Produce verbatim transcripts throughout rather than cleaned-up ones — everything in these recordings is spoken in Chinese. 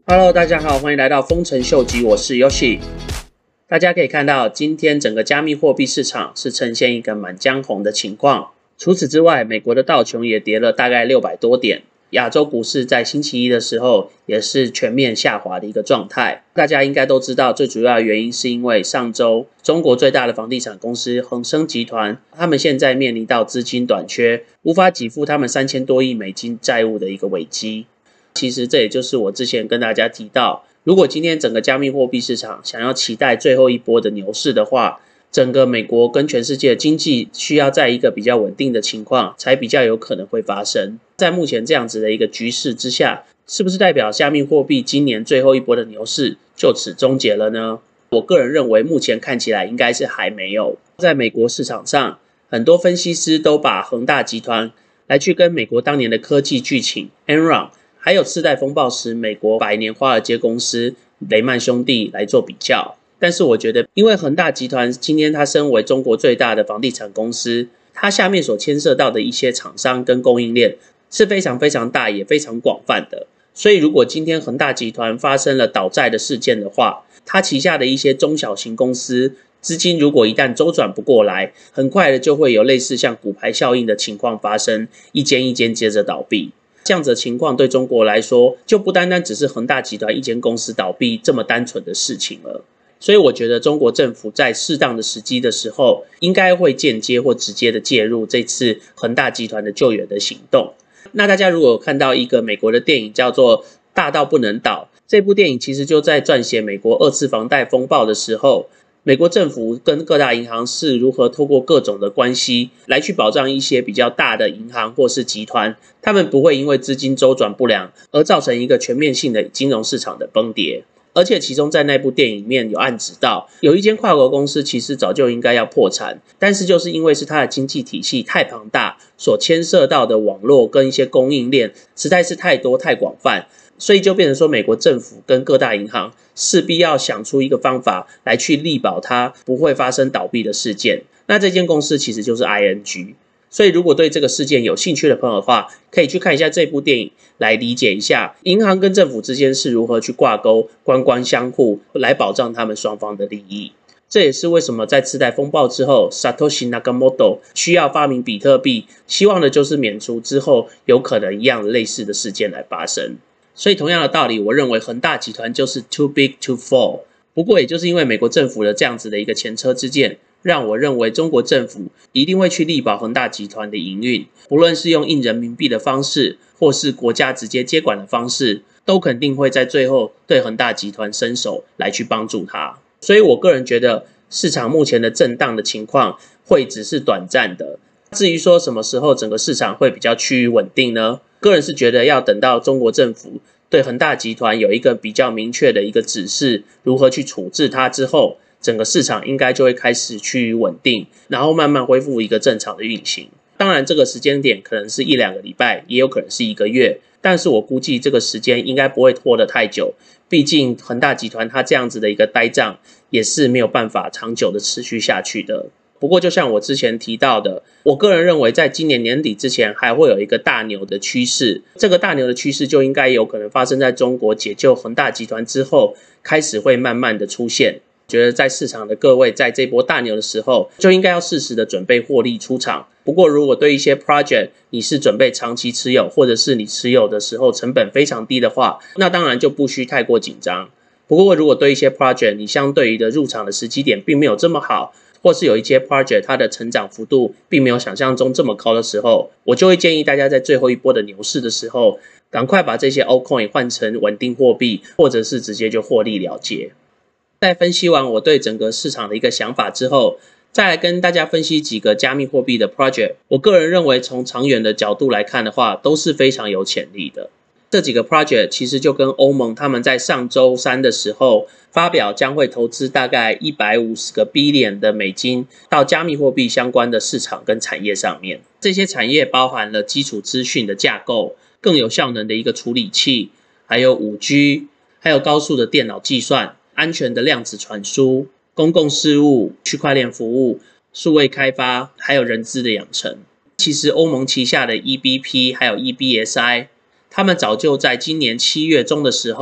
Hello， 大家好，欢迎来到丰臣秀吉，我是 Yoshi。大家可以看到，今天整个加密货币市场是呈现一个满江红的情况。除此之外，美国的道琼也跌了大概六百多点。亚洲股市在星期一的时候也是全面下滑的一个状态。大家应该都知道，最主要的原因是因为上周中国最大的房地产公司恒生集团，他们现在面临到资金短缺，无法给付他们三千多亿美金债务的一个危机。其实这也就是我之前跟大家提到，如果今天整个加密货币市场想要期待最后一波的牛市的话，整个美国跟全世界的经济需要在一个比较稳定的情况才比较有可能会发生。在目前这样子的一个局势之下，是不是代表加密货币今年最后一波的牛市就此终结了呢？我个人认为目前看起来应该是还没有。在美国市场上，很多分析师都把恒大集团来去跟美国当年的科技巨擎 Enron， 还有次贷风暴时美国百年华尔街公司雷曼兄弟来做比较。但是我觉得，因为恒大集团今天它身为中国最大的房地产公司，它下面所牵涉到的一些厂商跟供应链是非常非常大也非常广泛的。所以如果今天恒大集团发生了倒债的事件的话，它旗下的一些中小型公司资金如果一旦周转不过来，很快的就会有类似像骨牌效应的情况发生，一间一间接着倒闭。这样子的情况对中国来说，就不单单只是恒大集团一间公司倒闭这么单纯的事情了。所以我觉得中国政府在适当的时机的时候，应该会间接或直接的介入这次恒大集团的救援的行动。那大家如果有看到一个美国的电影叫做《大到不能倒》，这部电影其实就在撰写美国二次房贷风暴的时候，美国政府跟各大银行是如何透过各种的关系来去保障一些比较大的银行或是集团，他们不会因为资金周转不良而造成一个全面性的金融市场的崩跌。而且其中在那部电影里面有暗指到，有一间跨国公司其实早就应该要破产，但是就是因为是它的经济体系太庞大，所牵涉到的网络跟一些供应链实在是太多太广泛，所以就变成说美国政府跟各大银行势必要想出一个方法来去力保它不会发生倒闭的事件。那这间公司其实就是 I N G。所以如果对这个事件有兴趣的朋友的话，可以去看一下这部电影，来理解一下银行跟政府之间是如何去挂钩，官官相护，来保障他们双方的利益。这也是为什么在次贷风暴之后 Satoshi Nakamoto 需要发明比特币，希望的就是免除之后有可能一样类似的事件来发生。所以同样的道理，我认为恒大集团就是 too big to fall。不过也就是因为美国政府的这样子的一个前车之鉴，让我认为中国政府一定会去力保恒大集团的营运，不论是用印人民币的方式，或是国家直接接管的方式，都肯定会在最后对恒大集团伸手来去帮助它。所以我个人觉得市场目前的震荡的情况会只是短暂的。至于说什么时候整个市场会比较趋于稳定呢？个人是觉得要等到中国政府对恒大集团有一个比较明确的一个指示，如何去处置它之后，整个市场应该就会开始趋于稳定，然后慢慢恢复一个正常的运行。当然这个时间点可能是一两个礼拜，也有可能是一个月，但是我估计这个时间应该不会拖得太久，毕竟恒大集团它这样子的一个呆账也是没有办法长久的持续下去的。不过就像我之前提到的，我个人认为在今年年底之前还会有一个大牛的趋势，这个大牛的趋势就应该有可能发生在中国解救恒大集团之后，开始会慢慢的出现。觉得在市场的各位在这波大牛的时候，就应该要适时的准备获利出场。不过如果对一些 project 你是准备长期持有，或者是你持有的时候成本非常低的话，那当然就不需太过紧张。不过如果对一些 project 你相对于的入场的时机点并没有这么好，或是有一些 project 它的成长幅度并没有想象中这么高的时候，我就会建议大家在最后一波的牛市的时候，赶快把这些 altcoin 换成稳定货币，或者是直接就获利了结。在分析完我对整个市场的一个想法之后，再来跟大家分析几个加密货币的 project。我个人认为从长远的角度来看的话，都是非常有潜力的。这几个 project 其实就跟欧盟他们在上周三的时候发表将会投资大概一百五十个 billion 的美金到加密货币相关的市场跟产业上面。这些产业包含了基础资讯的架构、更有效能的一个处理器，还有 五 G， 还有高速的电脑计算、安全的量子传输、公共事务、区块链服务、数位开发，还有人资的养成。其实欧盟旗下的 E B P 还有 E B S I， 他们早就在今年七月中的时候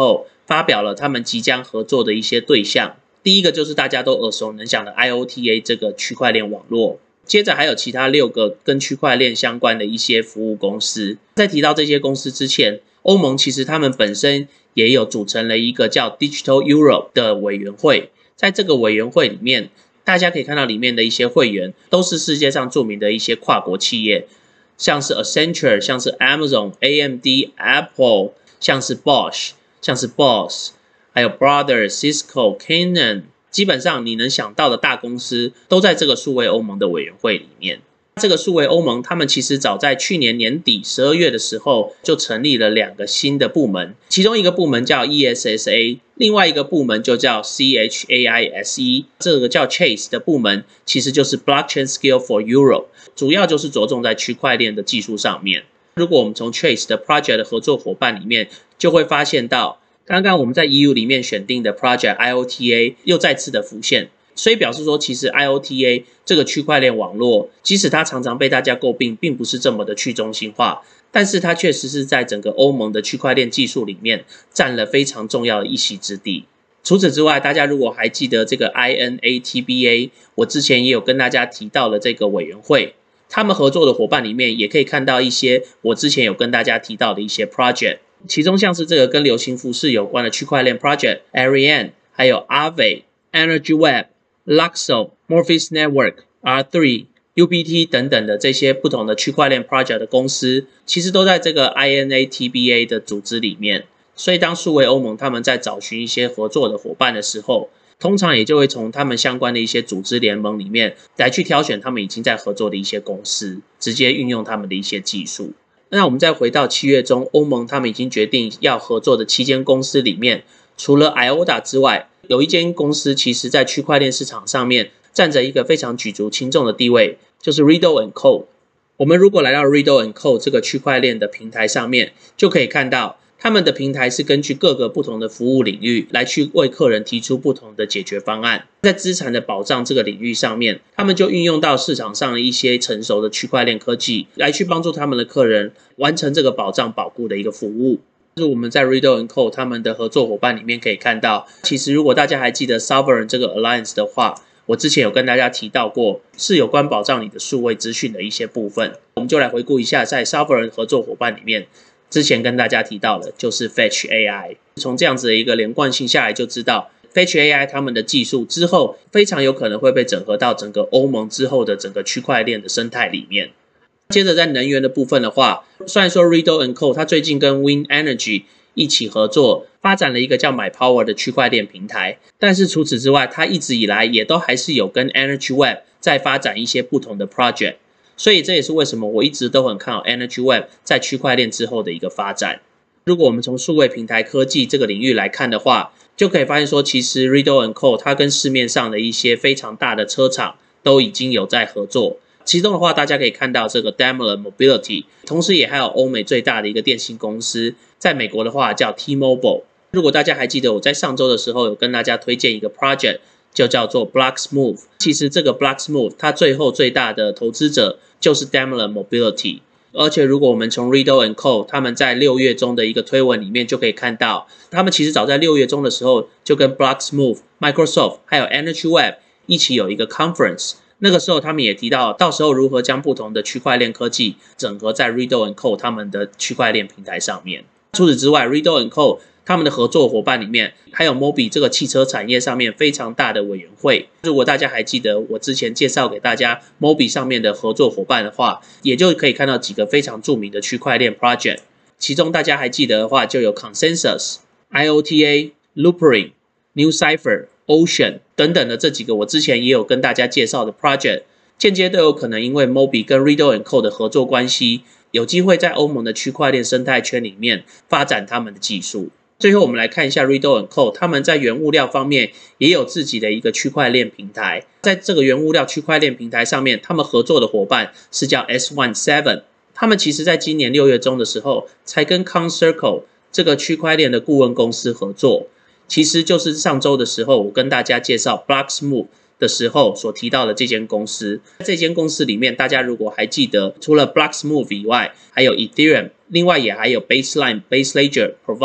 发表了他们即将合作的一些对象。第一个就是大家都耳熟能详的 I O T A 这个区块链网络，接着还有其他六个跟区块链相关的一些服务公司。在提到这些公司之前，欧盟其实他们本身也有组成了一个叫 Digital Europe 的委员会，在这个委员会里面，大家可以看到里面的一些会员都是世界上著名的一些跨国企业，像是 Accenture， 像是 Amazon、A M D、Apple， 像是 Bosch， 像是 Boss， 还有 Brothers、Cisco、Canon， 基本上你能想到的大公司都在这个数位欧盟的委员会里面。这个数位欧盟，他们其实早在去年年底十二月的时候就成立了两个新的部门，其中一个部门叫 E S S A， 另外一个部门就叫 C H A I S E， 这个叫 Chase 的部门其实就是 Blockchain Skill for Europe， 主要就是着重在区块链的技术上面。如果我们从 Chase 的 Project 的合作伙伴里面，就会发现到刚刚我们在 E U 里面选定的 Project I O T A 又再次的浮现。所以表示说，其实 I O T A 这个区块链网络，即使它常常被大家诟病，并不是这么的去中心化，但是它确实是在整个欧盟的区块链技术里面占了非常重要的一席之地。除此之外，大家如果还记得这个 I N A T B A， 我之前也有跟大家提到了这个委员会，他们合作的伙伴里面也可以看到一些我之前有跟大家提到的一些 project， 其中像是这个跟流行服饰有关的区块链 project、Ariane， 还有 Aave、Energy Web、Luxo、Morpheus Network、R 三、U B T 等等的这些不同的区块链 project 的公司，其实都在这个 I N A T B A 的组织里面。所以当数位欧盟他们在找寻一些合作的伙伴的时候，通常也就会从他们相关的一些组织联盟里面来去挑选他们已经在合作的一些公司，直接运用他们的一些技术。那我们再回到七月中，欧盟他们已经决定要合作的七间公司里面，除了 I O T A 之外，有一间公司其实在区块链市场上面占着一个非常举足轻重的地位，就是 Riddle and Co。 我们如果来到 Riddle and Co 这个区块链的平台上面，就可以看到他们的平台是根据各个不同的服务领域来去为客人提出不同的解决方案。在资产的保障这个领域上面，他们就运用到市场上的一些成熟的区块链科技来去帮助他们的客人完成这个保障保固的一个服务。就是我们在 Riddle and Co 他们的合作伙伴里面可以看到，其实如果大家还记得 Sovereign 这个 Alliance 的话，我之前有跟大家提到过，是有关保障你的数位资讯的一些部分。我们就来回顾一下，在 Sovereign 合作伙伴里面，之前跟大家提到的就是 Fetch A I。从这样子的一个连贯性下来，就知道 Fetch A I 他们的技术之后非常有可能会被整合到整个欧盟之后的整个区块链的生态里面。接着在能源的部分的话，虽然说 Riddle and Co 它最近跟 Wind Energy 一起合作，发展了一个叫 MyPower 的区块链平台，但是除此之外，它一直以来也都还是有跟 Energy Web 在发展一些不同的 project， 所以这也是为什么我一直都很看好 Energy Web 在区块链之后的一个发展。如果我们从数位平台科技这个领域来看的话，就可以发现说，其实 Riddle and Co 它跟市面上的一些非常大的车厂都已经有在合作。其中的话，大家可以看到这个 Daimler Mobility， 同时也还有欧美最大的一个电信公司，在美国的话叫 T-Mobile。如果大家还记得我在上周的时候有跟大家推荐一个 project， 就叫做 Blocksmove。其实这个 Blocksmove 它最后最大的投资者就是 Daimler Mobility。而且如果我们从 Riddle and Co 他们在六月中的一个推文里面就可以看到，他们其实早在六月中的时候就跟 Blocksmove、Microsoft 还有 Energy Web 一起有一个 conference。那个时候他们也提到，到时候如何将不同的区块链科技整合在 Riddle and Co 他们的区块链平台上面。除此之外 ，Riddle and Co 他们的合作伙伴里面还有 Mobi 这个汽车产业上面非常大的委员会。如果大家还记得我之前介绍给大家 Mobi 上面的合作伙伴的话，也就可以看到几个非常著名的区块链 project。其中大家还记得的话，就有 Consensus、I O T A、Loopring、New Cipher、Ocean 等等的这几个我之前也有跟大家介绍的 project， 间接都有可能因为 Mobi 跟 Riddle and Co 的合作关系，有机会在欧盟的区块链生态圈里面发展他们的技术。最后我们来看一下 Riddle and Co 他们在原物料方面也有自己的一个区块链平台。在这个原物料区块链平台上面，他们合作的伙伴是叫 S 十七。他们其实在今年六月中的时候才跟 Concircle 这个区块链的顾问公司合作。其实就是上周的时候我跟大家介绍 Blocksmove 的时候所提到的这间公司。这间公司里面，大家如果还记得，除了 Blocksmove 以外，还有 Ethereum， 另外也还有 Baseline、Base Ledger、Provide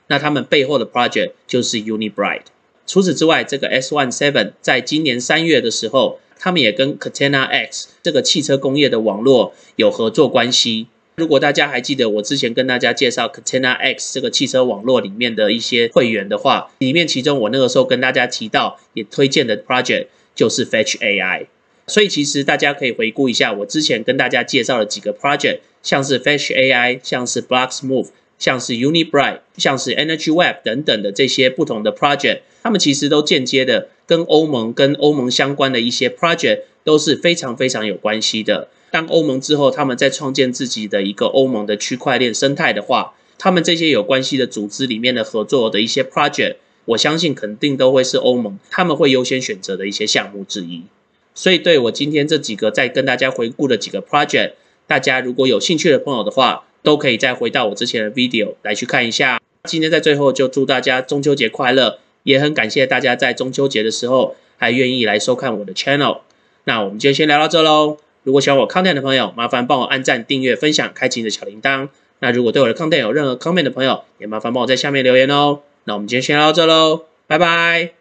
那他们背后的 project 就是 Unibright。除此之外，这个 S 十七 在今年三月的时候，他们也跟 Catena X 这个汽车工业的网络有合作关系。如果大家还记得我之前跟大家介绍 Catena X 这个汽车网络里面的一些会员的话，里面其中我那个时候跟大家提到也推荐的 project 就是 Fetch A I。所以其实大家可以回顾一下我之前跟大家介绍的几个 project， 像是 Fetch A I， 像是 Blocksmove， 像是 Unibright， 像是 Energy Web 等等的这些不同的 project， 他们其实都间接的跟欧盟跟欧盟相关的一些 project 都是非常非常有关系的。当欧盟之后，他们在创建自己的一个欧盟的区块链生态的话，他们这些有关系的组织里面的合作的一些 project， 我相信肯定都会是欧盟他们会优先选择的一些项目之一。所以对我今天这几个在跟大家回顾的几个 project， 大家如果有兴趣的朋友的话，都可以再回到我之前的 video 来去看一下。今天在最后就祝大家中秋节快乐，也很感谢大家在中秋节的时候还愿意来收看我的 channel。那我们今天先聊到这咯。如果喜欢我 content 的朋友，麻烦帮我按赞、订阅、分享、开启你的小铃铛。那如果对我的 content 有任何 comment 的朋友，也麻烦帮我在下面留言哦。那我们今天先聊到这咯，拜拜。